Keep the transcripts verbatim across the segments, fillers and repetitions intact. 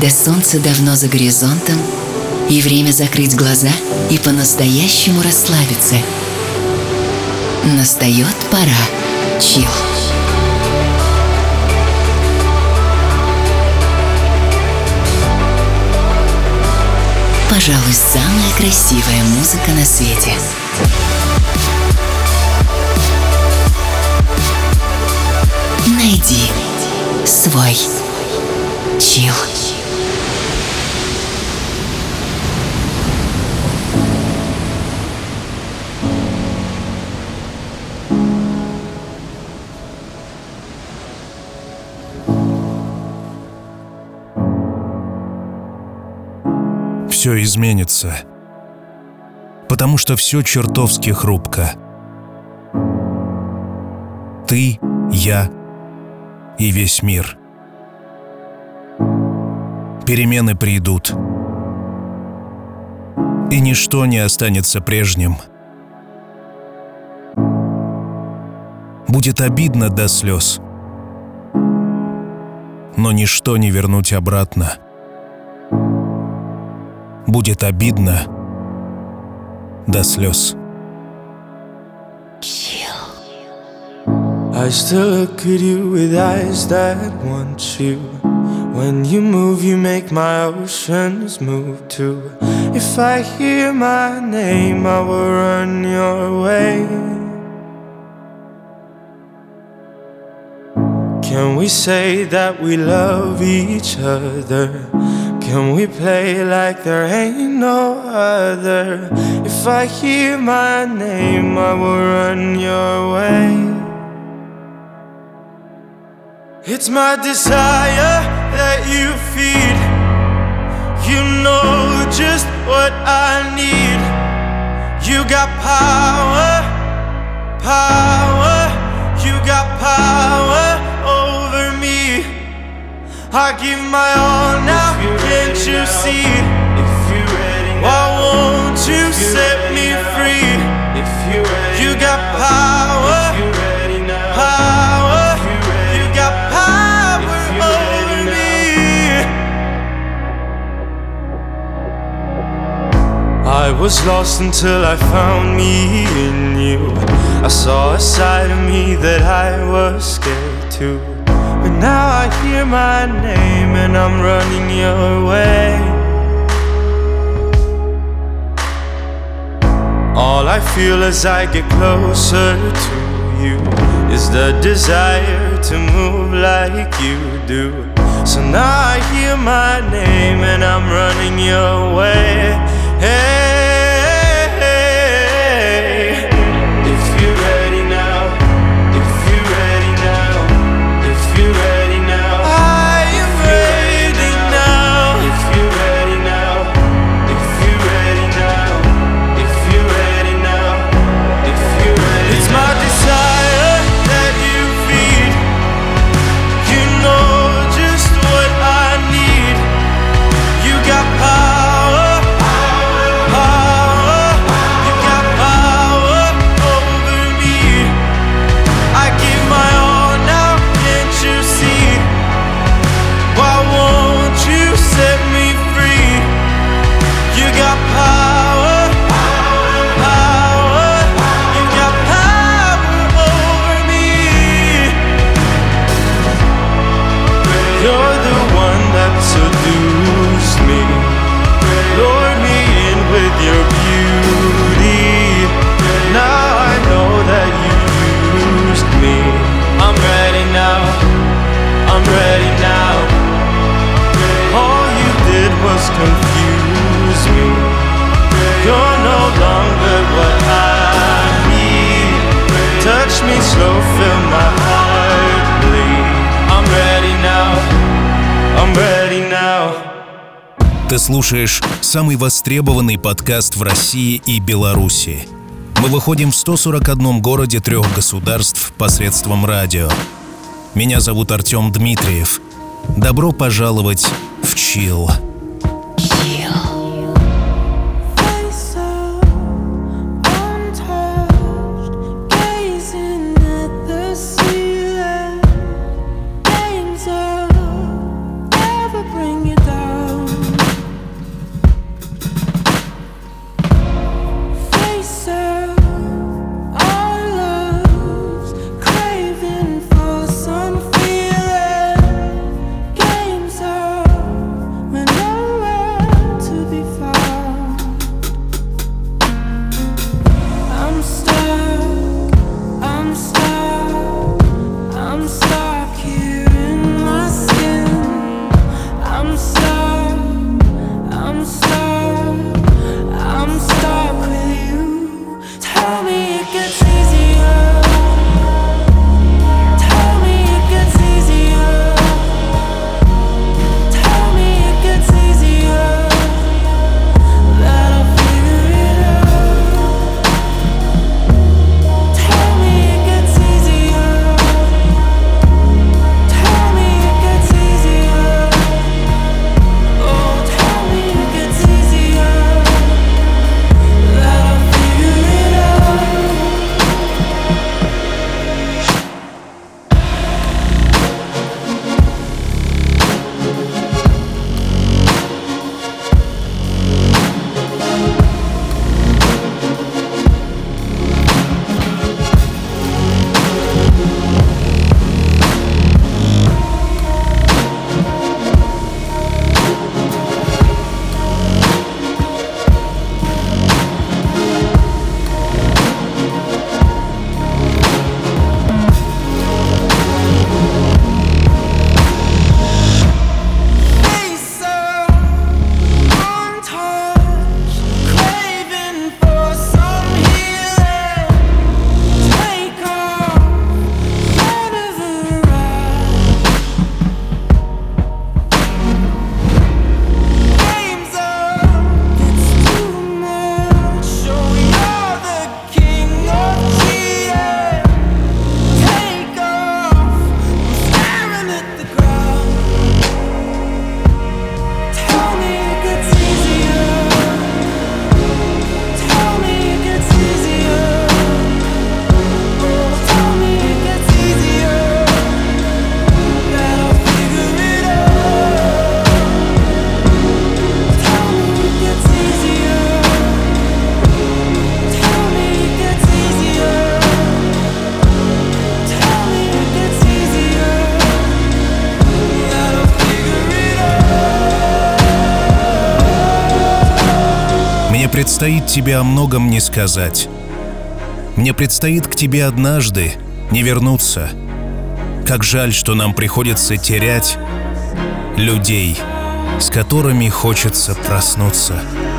когда солнце давно за горизонтом, и время закрыть глаза и по-настоящему расслабиться. Настает пора чилл. Пожалуй, самая красивая музыка на свете. Найди свой чилл. Все изменится, потому что все чертовски хрупко. Ты, я и весь мир. Перемены придут, и ничто не останется прежним. Будет обидно до слез, но ничто не вернуть обратно. Будет обидно до слез. I still look at you with eyes that want you. When you move, you make my oceans move too. If I hear my name, I will run your way. Can we say that we love each other? Can we play like there ain't no other? If I hear my name, I will run your way. It's my desire that you feed. You know just what I need. You got power, power. You got power over me. I give my all now, can't you see? Why won't you set me free? You got power, power. You got power over me. I was lost until I found me in you. I saw a side of me that I was scared to. But now I hear my name and I'm running your way. All I feel as I get closer to you is the desire to move like you do. So now I hear my name and I'm running your way. Hey, hey. If you're ready now, if you're ready now, if you're ready now, I am ready now. If you're ready now, if you're ready now, if you're ready now, if you're ready. It's my desire that you feed. You know just what I need. You got power, power. You got power over me. I give my all now, can't you see? Why won't you set me free? You got power, power. You got power over me. You're the one that seduced me. Lure me in with your beauty. Now I know that you used me. I'm ready now, I'm ready now. All you did was confuse me. You're no longer what I need. Touch me slow, feel my heart bleed. I'm ready now, I'm ready now. Ты слушаешь самый востребованный подкаст в России и Беларуси. Мы выходим в ста сорока одном городе трех государств посредством радио. Меня зовут Артем Дмитриев. Добро пожаловать в чилл. Bring you down. предстоит тебе о многом не сказать. Мне предстоит к тебе однажды не вернуться. Как жаль, что нам приходится терять людей, с которыми хочется проснуться.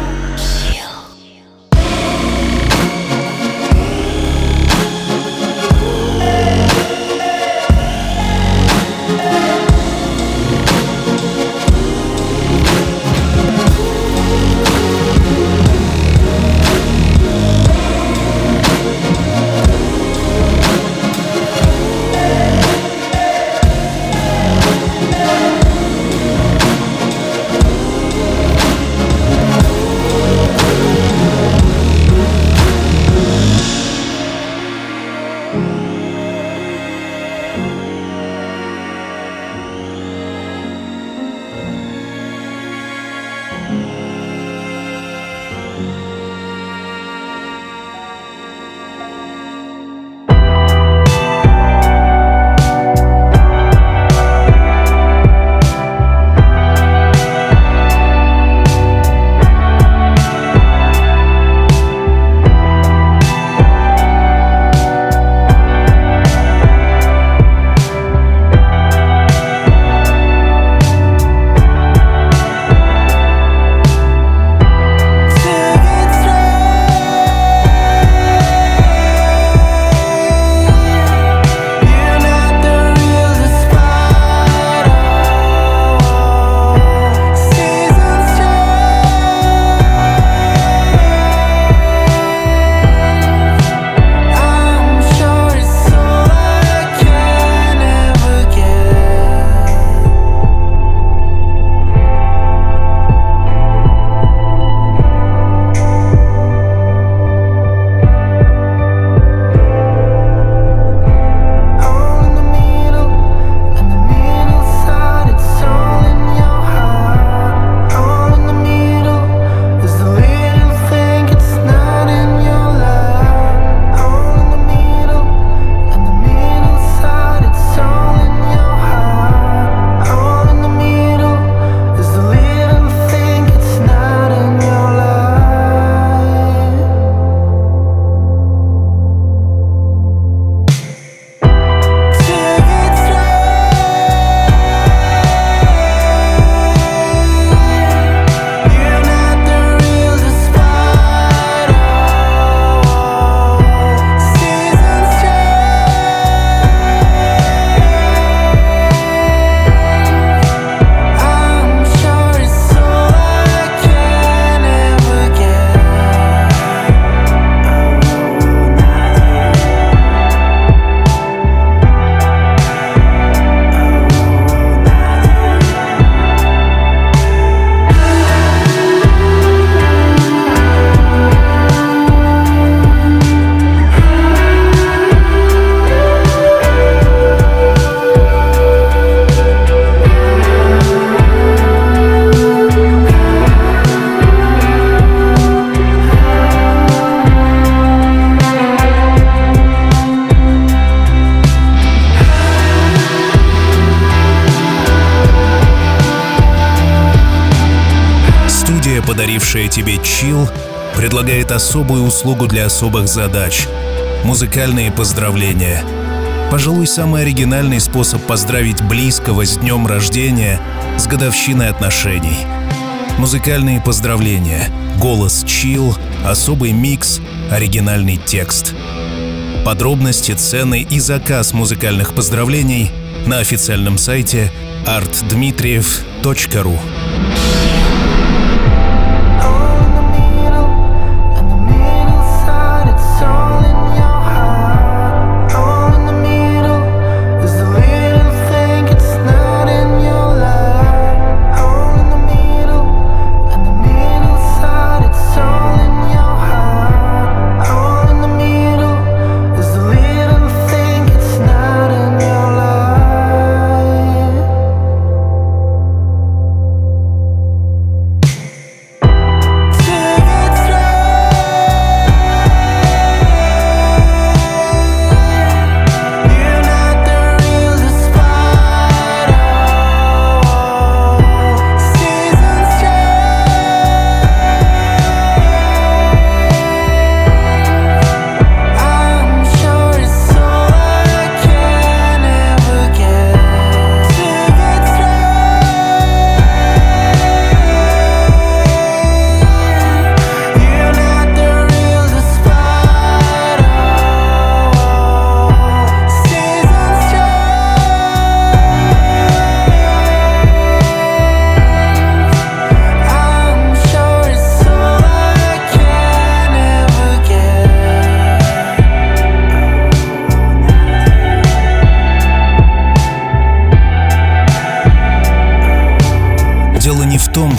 Подарившая тебе чил, предлагает особую услугу для особых задач — музыкальные поздравления. Пожалуй, самый оригинальный способ поздравить близкого с днем рождения, с годовщиной отношений. Музыкальные поздравления, голос чил, особый микс, оригинальный текст. Подробности, цены и заказ музыкальных поздравлений на официальном сайте арт дмитриев точка ру.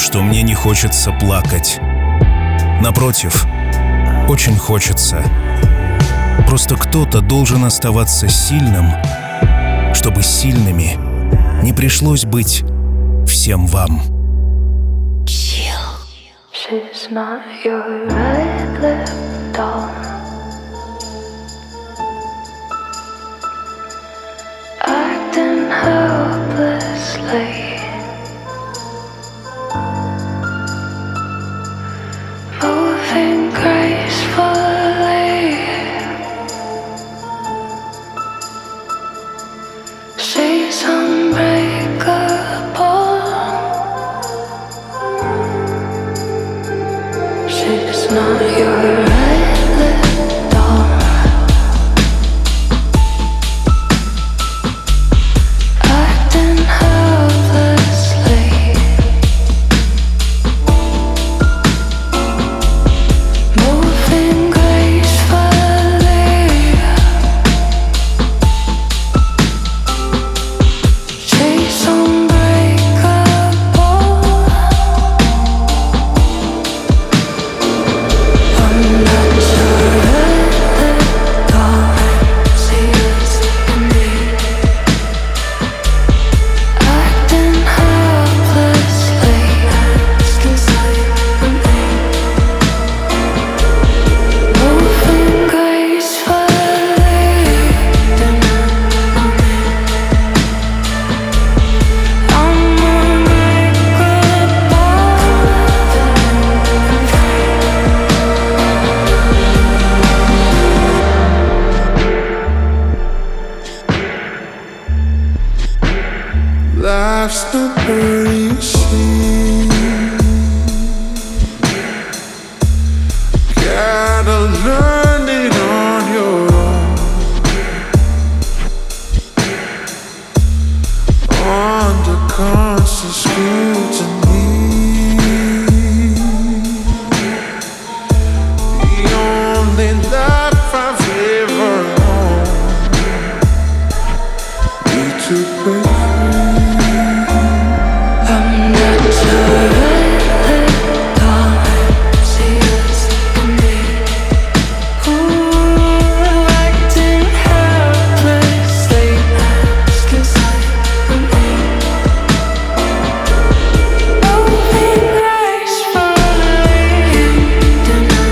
что мне не хочется плакать. Напротив, очень хочется. Просто кто-то должен оставаться сильным, чтобы сильными не пришлось быть всем вам. She's not your right lip doll. Acting helplessly, moving gracefully. She's unbreakable. She's not your right lip doll. Acting helplessly, moving gracefully. She's unbreakable. I'm not your right lip doll. Serious in me, acting helplessly, asking something from me, moving gracefully. Then I'm Life's the bird you see. Gotta learn it on your own. Under constant scrutiny. The only life I've ever known. Need to break I'm not your right lip doll. Serious in me, ooh, acting helplessly, asking something from me, moving gracefully. Then I'm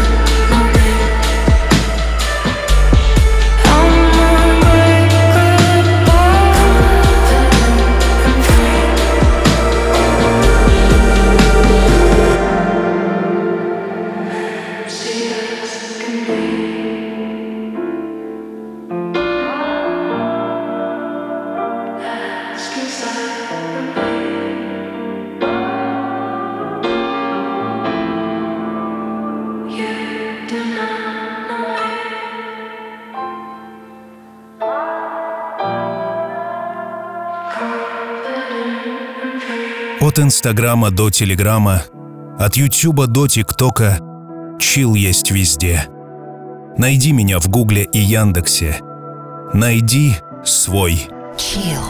От Инстаграма до Телеграма, от Ютуба до ТикТока, чил есть везде. Найди меня в Гугле и Яндексе. Найди свой. Chill.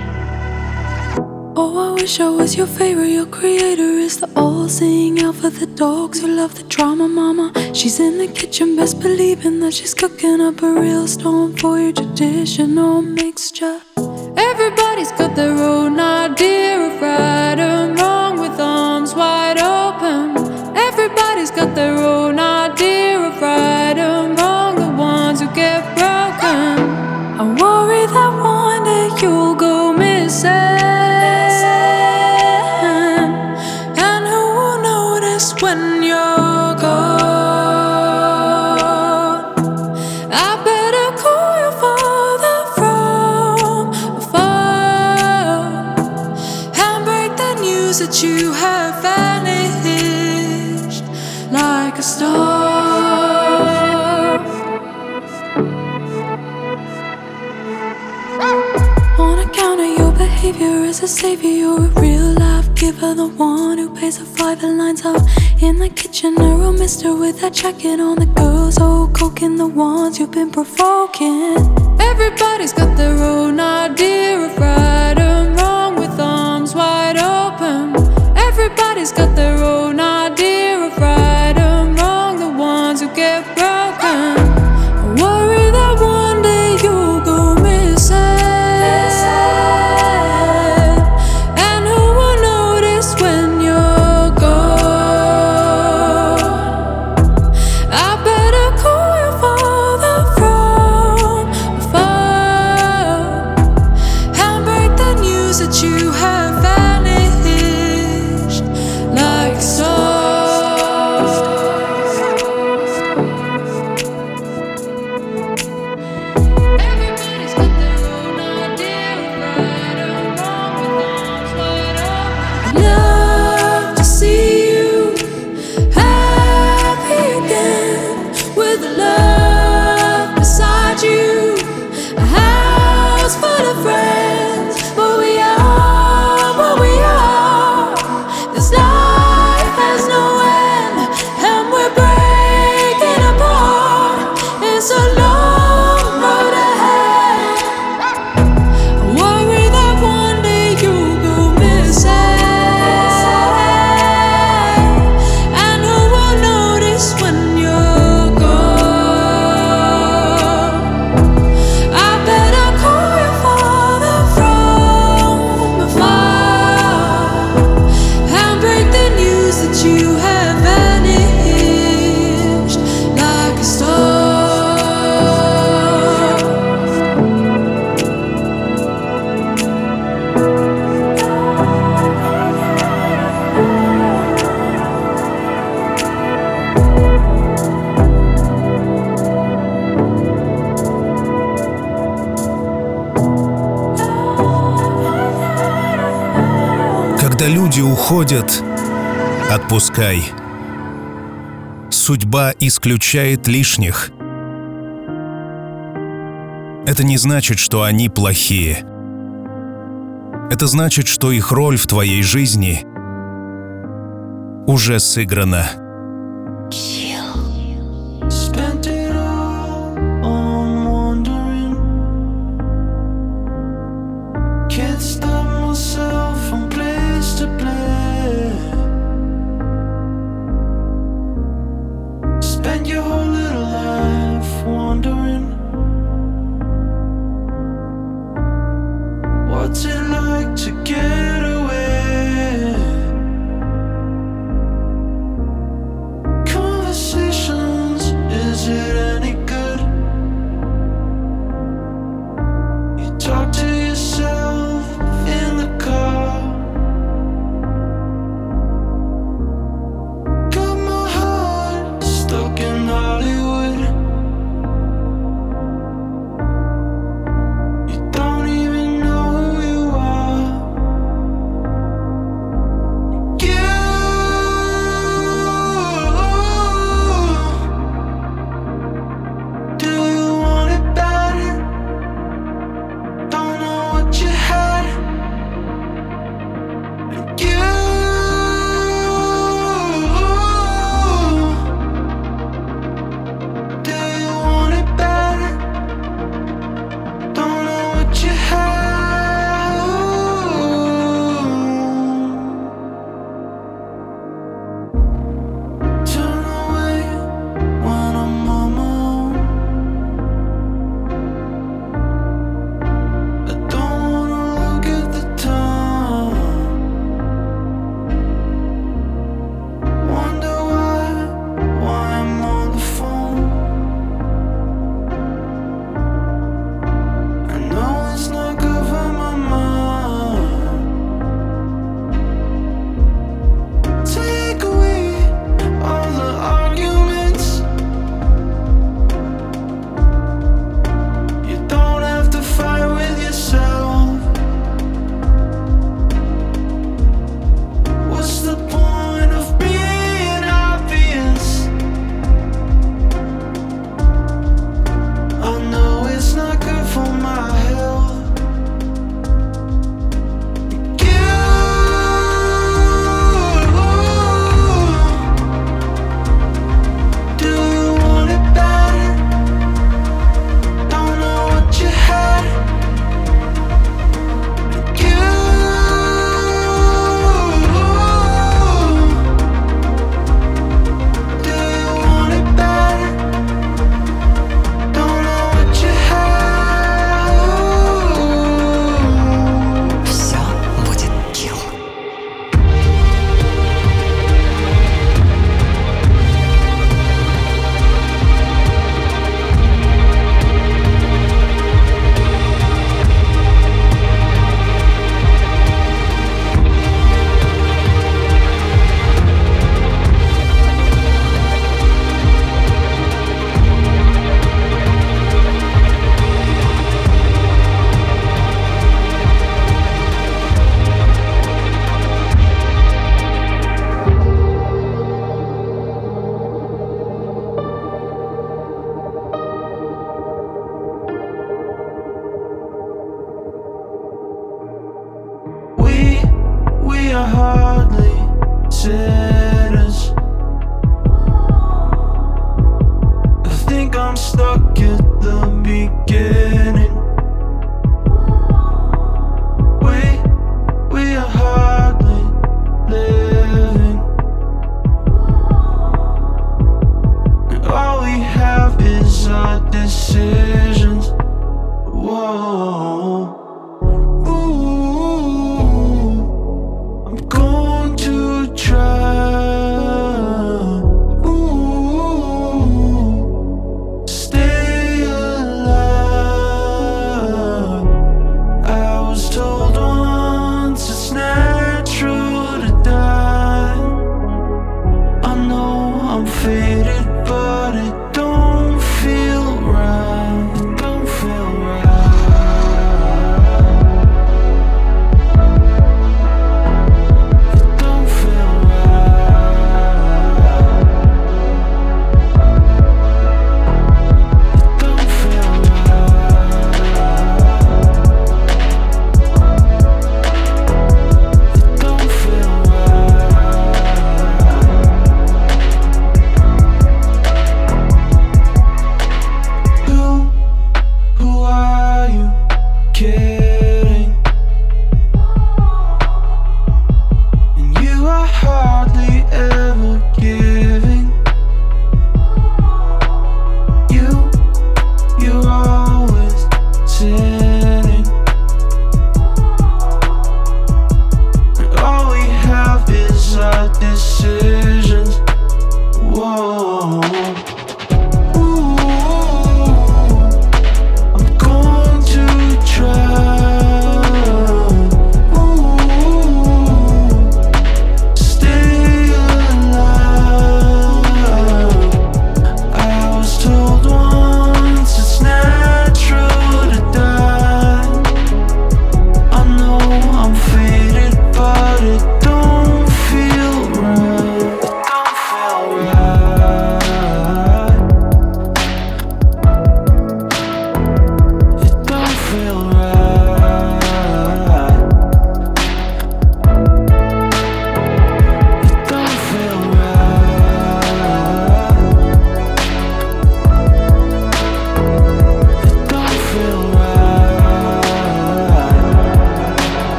Oh, I wish I was your favorite. Your creator is the all-seeing out for the dogs who love the drama, mama. She's in the kitchen, best believing that she's cooking up a real storm for your traditional mixture. Everybody's got their own idea of right and wrong, with arms wide open. Everybody's got their own idea of right and wrong, the ones who get broken. I worry that one day you'll go missing, and who will notice when you're gone? I better call your father from afar and break the news that you have vanished like a star. On account of your behavior as a savior, you're a real life giver, the one who pays the five and lines up in the kitchen. A real mister with that jacket on, the girls all coking, the ones you've been provoking. Everybody's got their own idea of right and wrong, with arms wide open. Everybody's Everybody's got their own idea of right and wrong, the ones who get broken. I worry that one day you'll go missing, and who will notice when you're gone? I better call your father from afar and break the news that you have vanished like a star. Everybody's got their own idea of right and wrong, with arms wide open. I'd love to see you happy again, with love beside you, a house full of friends. But we are what we are. This life has no end, and we're breaking apart. It's a long road ahead. I worry that one day you'll go missing, and who will notice when you're gone? I better call your father from afar and break the news that you have vanished like a star. Когда люди уходят, отпускай. Судьба исключает лишних. Это не значит, что они плохие. Это значит, что их роль в твоей жизни уже сыграна. Spent it all on wandering. Can't stop myself from place to place. Spent your whole little life wondering. What's it like to get away? Conversation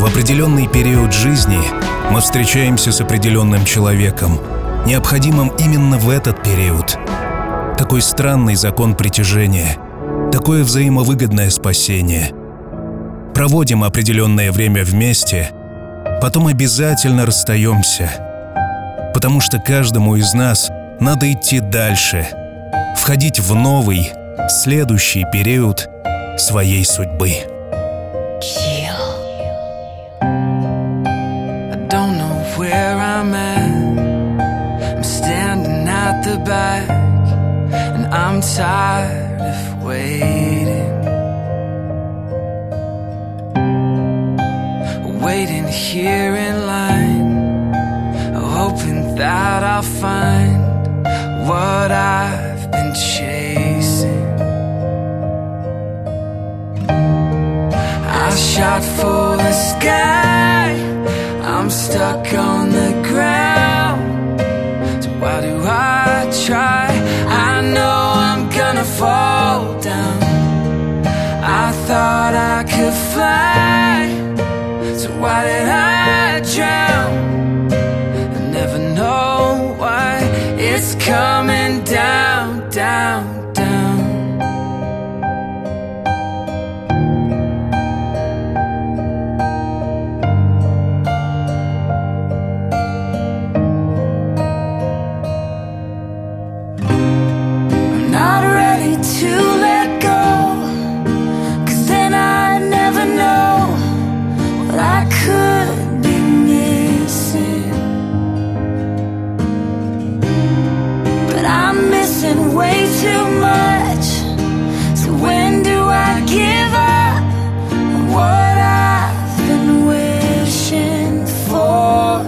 В определенный период жизни мы встречаемся с определенным человеком, необходимым именно в этот период. Какой странный закон притяжения, такое взаимовыгодное спасение. Проводим определенное время вместе, потом обязательно расстаемся, потому что каждому из нас надо идти дальше, входить в новый, следующий период своей судьбы. Where I'm at, I'm standing at the back, and I'm tired of waiting, waiting here in line, hoping that I'll find what I've been chasing. I shot for the sky, I'm stuck on the ground. So why do I try? I know I'm gonna fall down. I thought I could fly, so why did I drown? I never know why it's coming down, down, down. To let go, 'cause then I never know what I could be missing. But I'm missing way too much. So when do I give up on what I've been wishing for?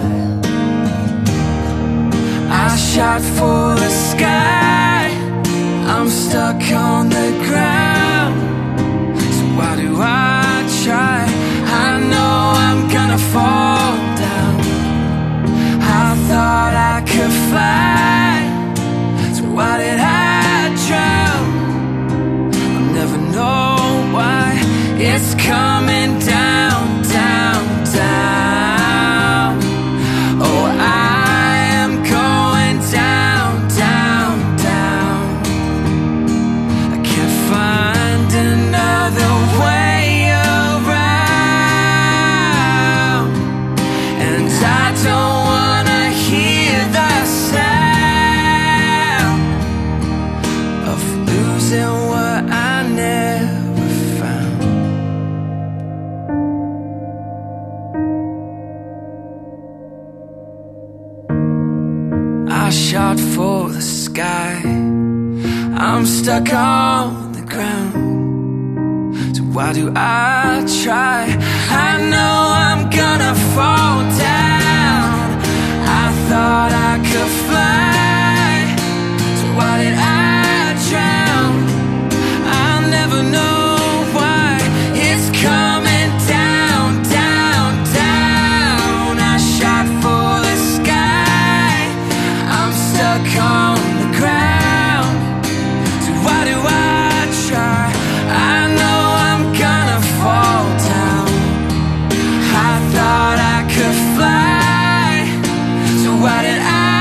I shot for the sky, I'm stuck on the ground. So why do I try? I know I'm gonna fall down. I thought I could fly, so why did I drown? I'll never know why it's coming down, down, down. Oh, I am going down, down, down. Find another way around, and I don't wanna hear the sound of losing what I never found. I shot for the sky, I'm stuck on the ground. So why do I try? I know I'm gonna fall down. I thought I could fly, so why did I drown? I'll never know why it's coming down, down, down. I shot for the sky, I'm stuck on the ground. So why do I try? I know I'm gonna fall down. I thought I could fly, so why did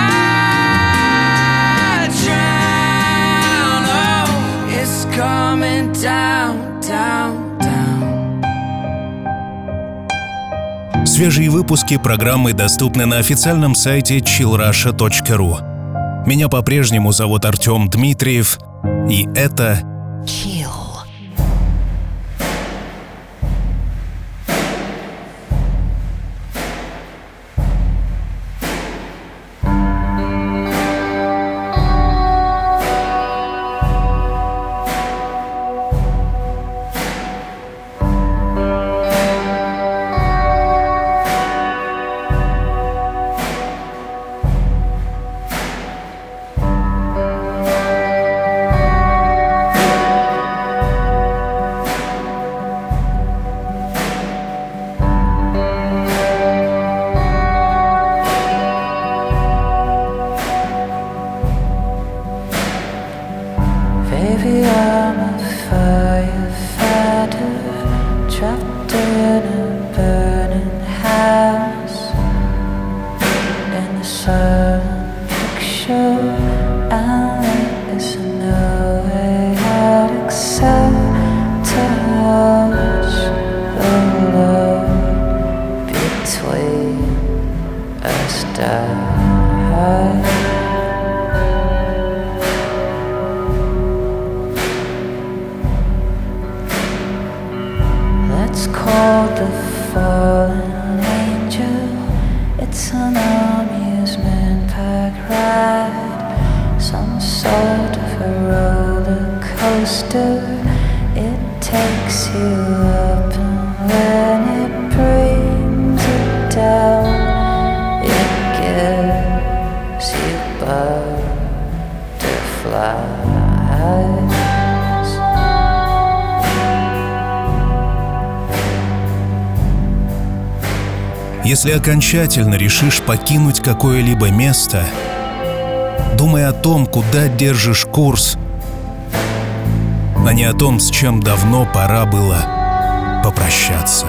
I drown? Oh, it's coming down, down, down. Свежие выпуски программы доступны на официальном сайте чилл раша точка ру. Меня по-прежнему зовут Артем Дмитриев, и это Chill. between us die. Let's call the fallen angel. It's an amusement park ride, some sort of a roller coaster. It takes you up, and when it brings it down, it gives you butterflies. Если окончательно решишь покинуть какое-либо место, думай о том, куда держишь курс, а не о том, с чем давно пора было попрощаться.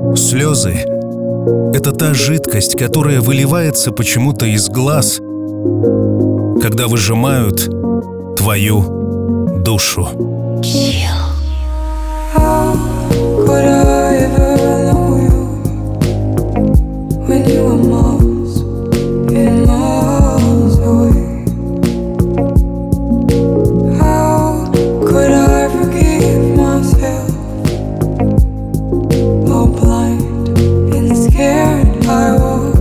Слезы — это та жидкость, которая выливается почему-то из глаз, когда выжимают твою душу. How could I ever know you when you were miles and miles away? How could I forgive myself? How blind and scared I was.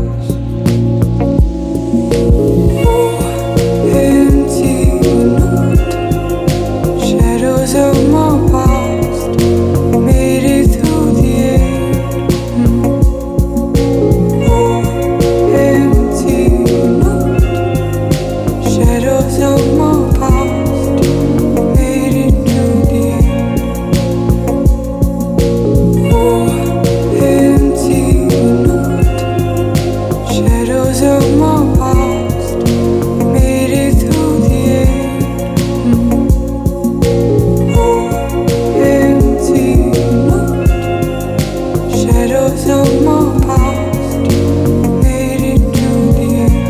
Oh, empty night, shadows of my past made it through the air. Mm. Oh, empty night, shadows of my past made it through the air. Oh, empty night, shadows of my past made it through the air. Mm. Empty night, shadows of my past made it through the air.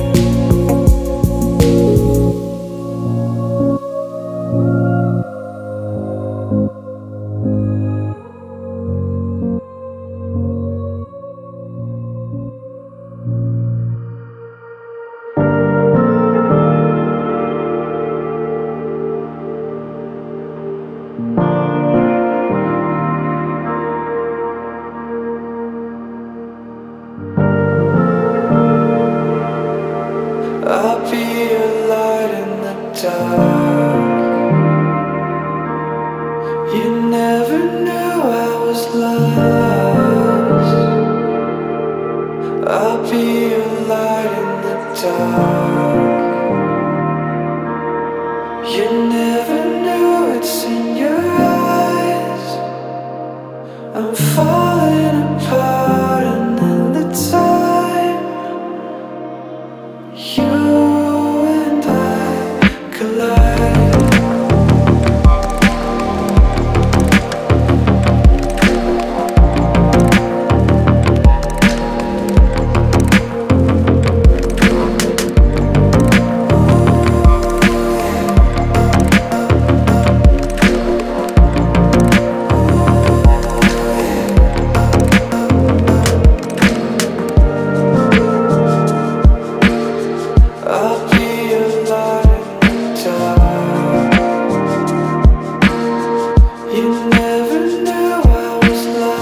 I'll be a light in the dark. You never knew I was lost. I'll be a light in the dark. You never knew it's in your eyes. I'm falling apart, and in the time you and I collide. I'll be a light in the dark. You never knew I was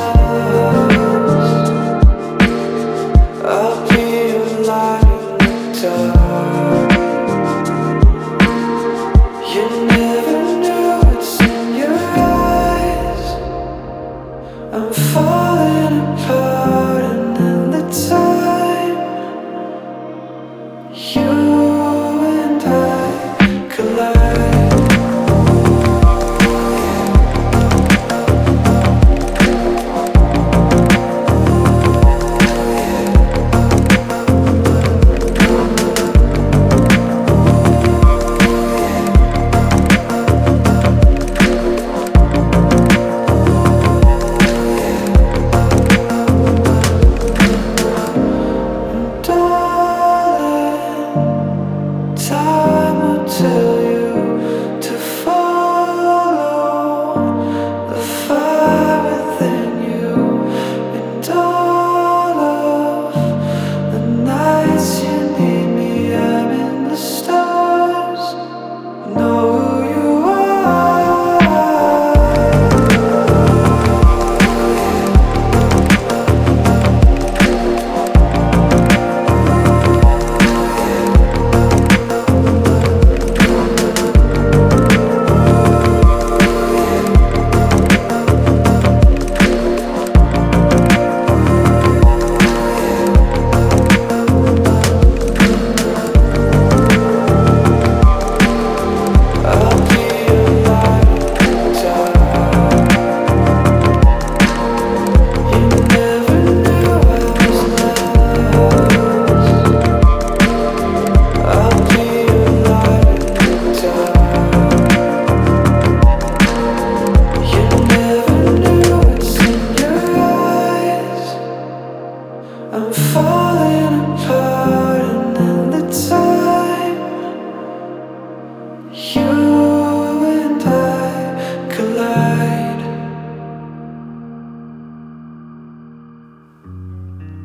lost. I'll be a light in the dark. You never knew it's in your eyes. I'm falling apart, and in the time you and I collide.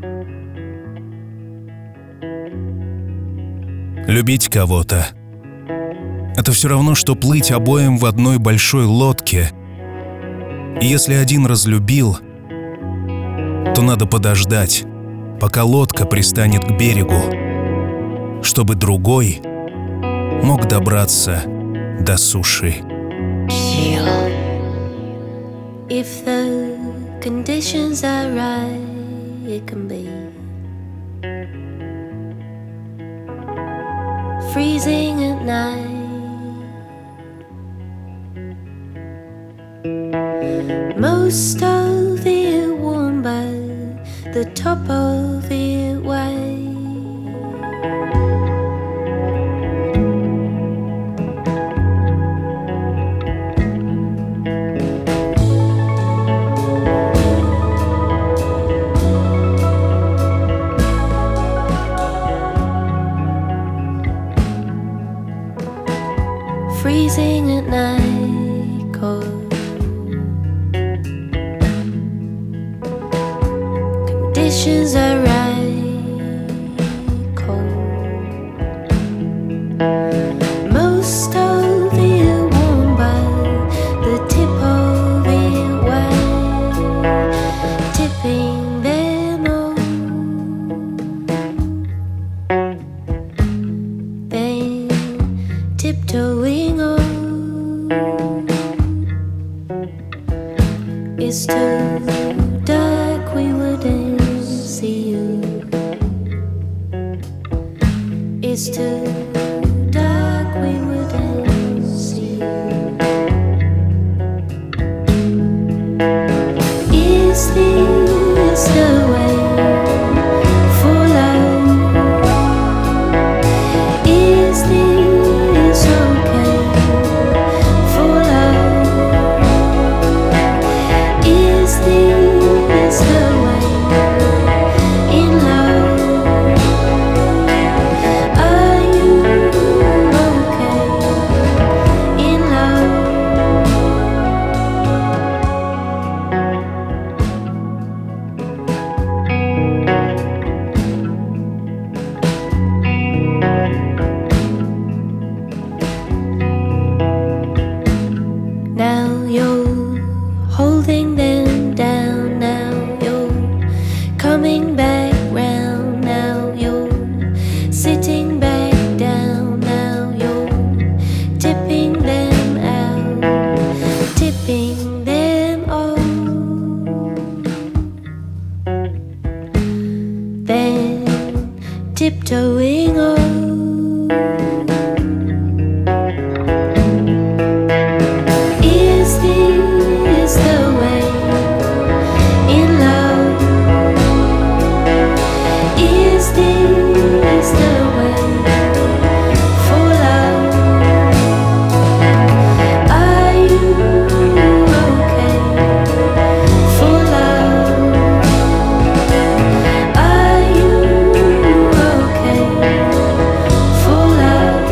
Любить кого-то — это все равно, что плыть обоим в одной большой лодке. И если один разлюбил, то надо подождать, пока лодка пристанет к берегу, чтобы другой мог добраться до суши. If the conditions are right, it can be freezing at night. Most of it warm, but the top of it white. Freezing at night, cold. Conditions are right, cold. Most of it warm, but the tip of it white, tipping them all. Then tiptoeing on. It's too dark, we wouldn't see you. It's too dark, we wouldn't see you. Is this the way for love? Is this okay for love? Is this the way in love? Are you okay in love? Now you're holding them down, now you're coming back round, now you're sitting back down, now you're tipping them out, tipping them all. Then tiptoeing on. Is this the way in love? Is this the way for love? Are you okay for love? Are you okay for love?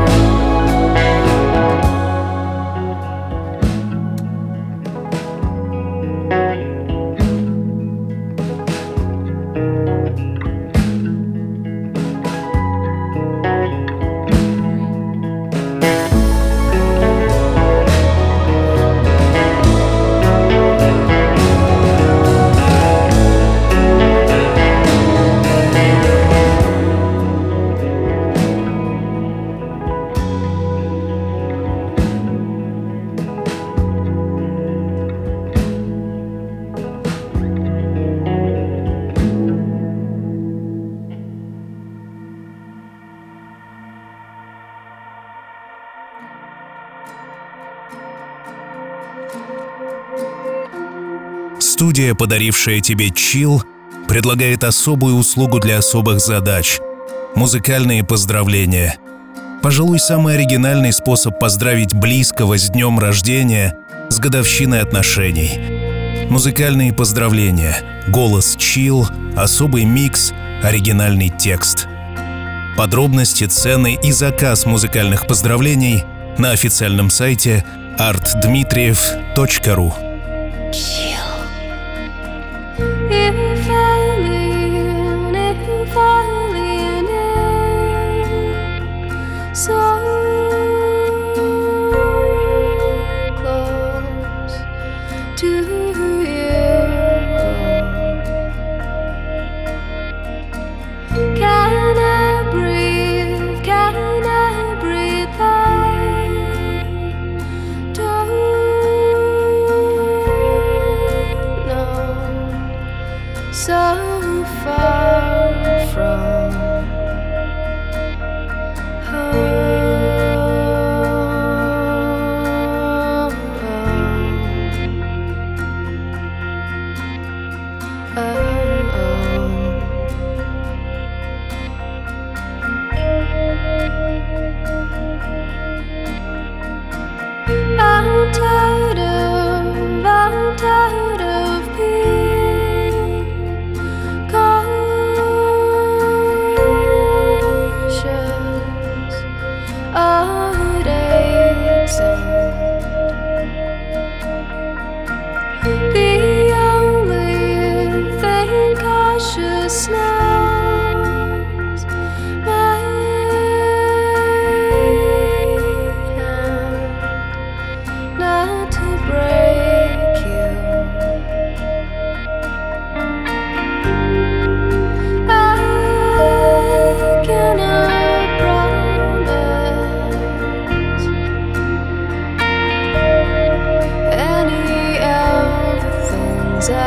Студия, подарившая тебе чил, предлагает особую услугу для особых задач — музыкальные поздравления. Пожалуй, самый оригинальный способ поздравить близкого с днем рождения, с годовщиной отношений. Музыкальные поздравления, голос чил, особый микс, оригинальный текст. Подробности, цены и заказ музыкальных поздравлений на официальном сайте арт дмитриев точка ру. If I leave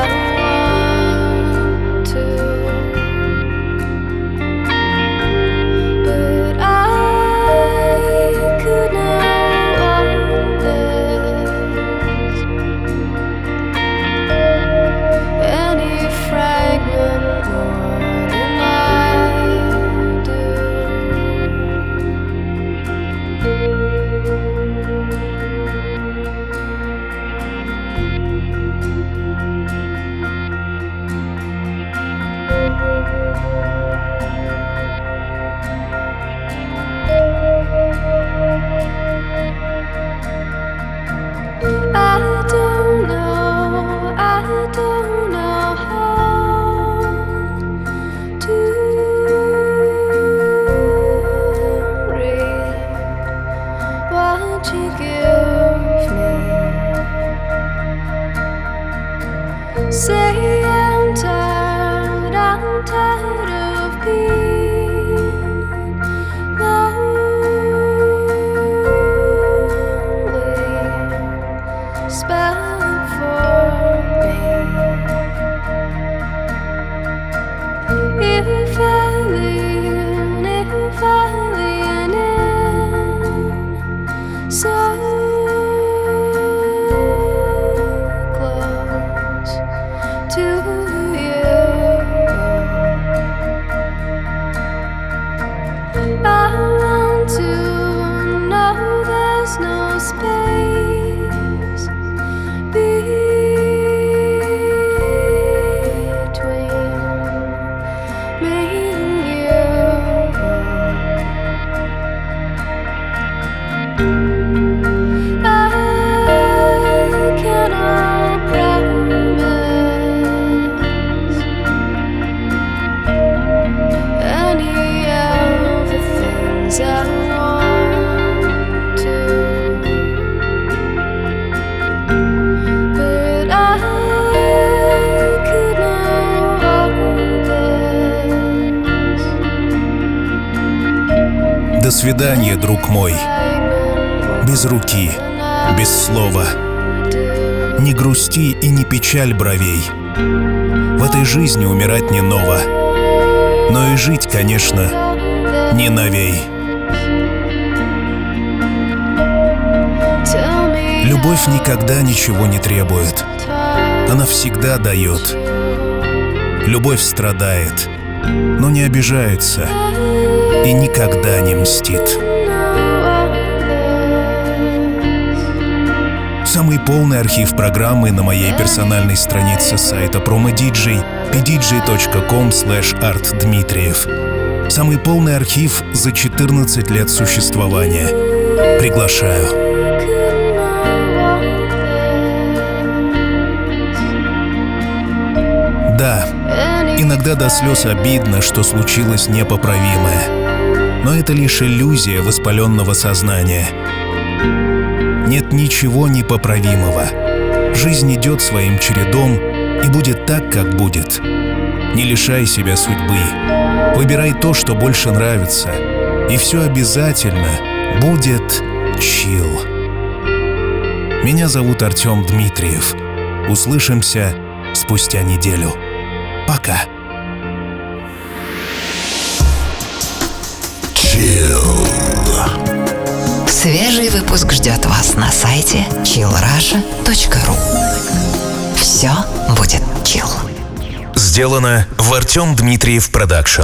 want to, but I could not want this. Any fragment more than I do. I don't know, I don't know how to read what you give me. Say I'm tired, I'm tired of being lonely. Spell it for me. If I lean, if I lean in so close to you, I want to know there's no space between me and you. I cannot promise any of the things I want to, but I could not want this. До свидания, друг мой. Без руки, без слова. Не грусти и не печаль бровей. В этой жизни умирать не ново, но и жить, конечно, не новей. Любовь никогда ничего не требует. Она всегда дает. Любовь страдает, но не обижается и никогда не мстит. Самый полный архив программы на моей персональной странице сайта промо-диджей пи ди джей точка ком слэш арт дмитриев. Самый полный архив за четырнадцать лет существования. Приглашаю. Да, иногда до слез обидно, что случилось непоправимое. Но это лишь иллюзия воспаленного сознания. Нет ничего непоправимого. Жизнь идет своим чередом и будет так, как будет. Не лишай себя судьбы. Выбирай то, что больше нравится. И все обязательно будет чилл. Меня зовут Артем Дмитриев. Услышимся спустя неделю. Пока. Chill. Свежий выпуск ждет вас на сайте чилл раша точка ру. Все будет чилл. Сделано в Артем Дмитриев Продакшн.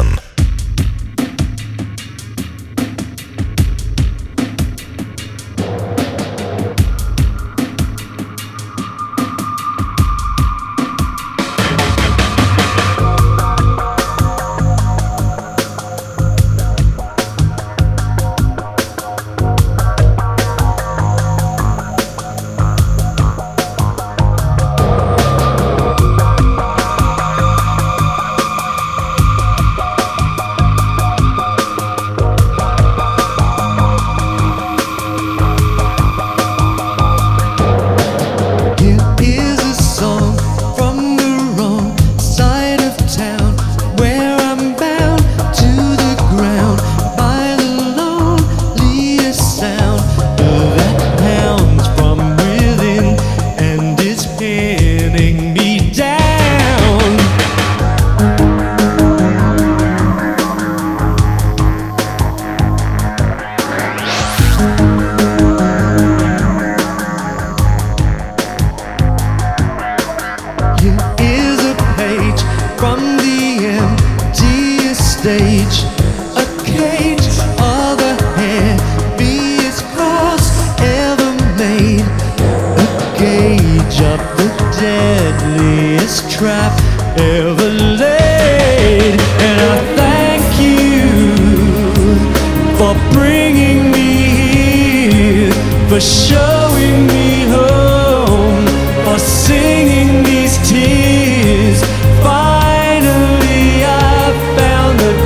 stage, a cage of the heaviest cross ever made, a gauge of the deadliest trap ever laid. And I thank you for bringing me here, for showing me home, for singing these tears. Finally I found that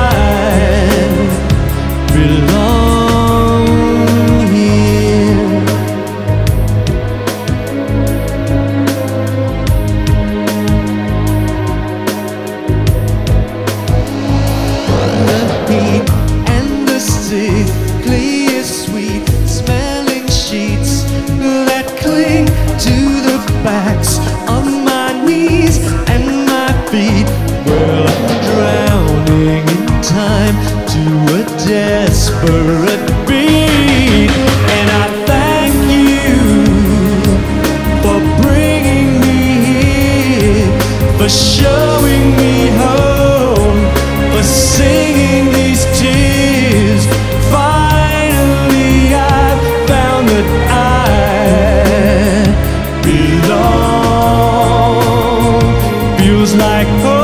I belong here. The heat and the sickly sweet smelling sheets that cling to the backs of my knees and my feet. Well, I'm drowning in time to a desperate beat. And I thank you for bringing me here, for showing me home, for singing these tears. Finally I found that I belong. Feels like home.